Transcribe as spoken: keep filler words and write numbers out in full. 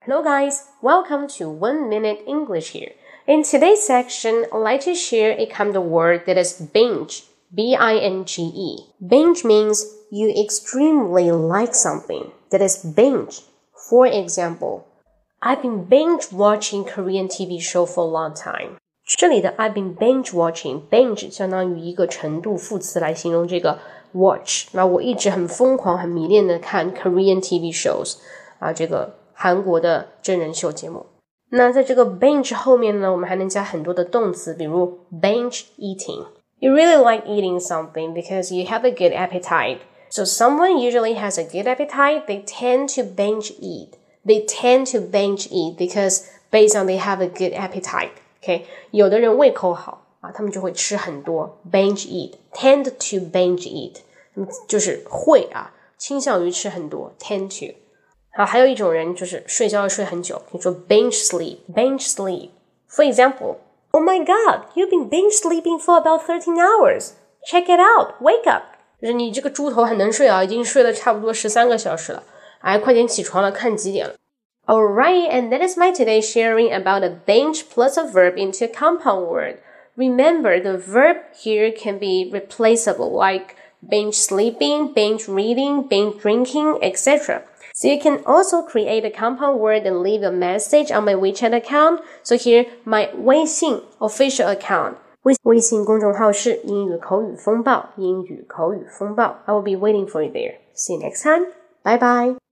Hello guys, welcome to One Minute English here. In today's section, I'd like to share a kind of word that is binge, B I N G E. Binge means you extremely like something. That is binge. For example, I've been binge watching Korean T V show for a long time. 这里的 I've been binge watching, binge 相当于一个程度副词来形容这个 watch. 那我一直很疯狂、很迷恋的看 Korean T V shows 啊，这个韩国的真人秀节目。那在这个 binge 后面呢，我们还能加很多的动词，比如 binge eating. You really like eating something because you have a good appetite. So someone usually has a good appetite, they tend to binge eat. They tend to binge eat because based on they have a good appetite. Okay? 有的人胃口好啊，他们就会吃很多 binge eat, tend to binge eat. 就是会啊，倾向于吃很多 tend to.好，还有一种人就是睡觉要睡很久，你说 binge sleep, binge sleep. For example, oh my god, you've been binge sleeping for about thirteen hours. Check it out, wake up. 就是你这个猪头很能睡啊，已经睡了差不多十三个小时了，哎，快点起床了，看几点了。Alright, and that is my today's sharing about a binge plus a verb into a compound word. Remember, the verb here can be replaceable, like binge sleeping, binge reading, binge drinking, et cetera.So you can also create a compound word and leave a message on my WeChat account. So here, my 微信 official account. 微微信公众号是英语口语风暴，英语口语风暴。I will be waiting for you there. See you next time. Bye bye.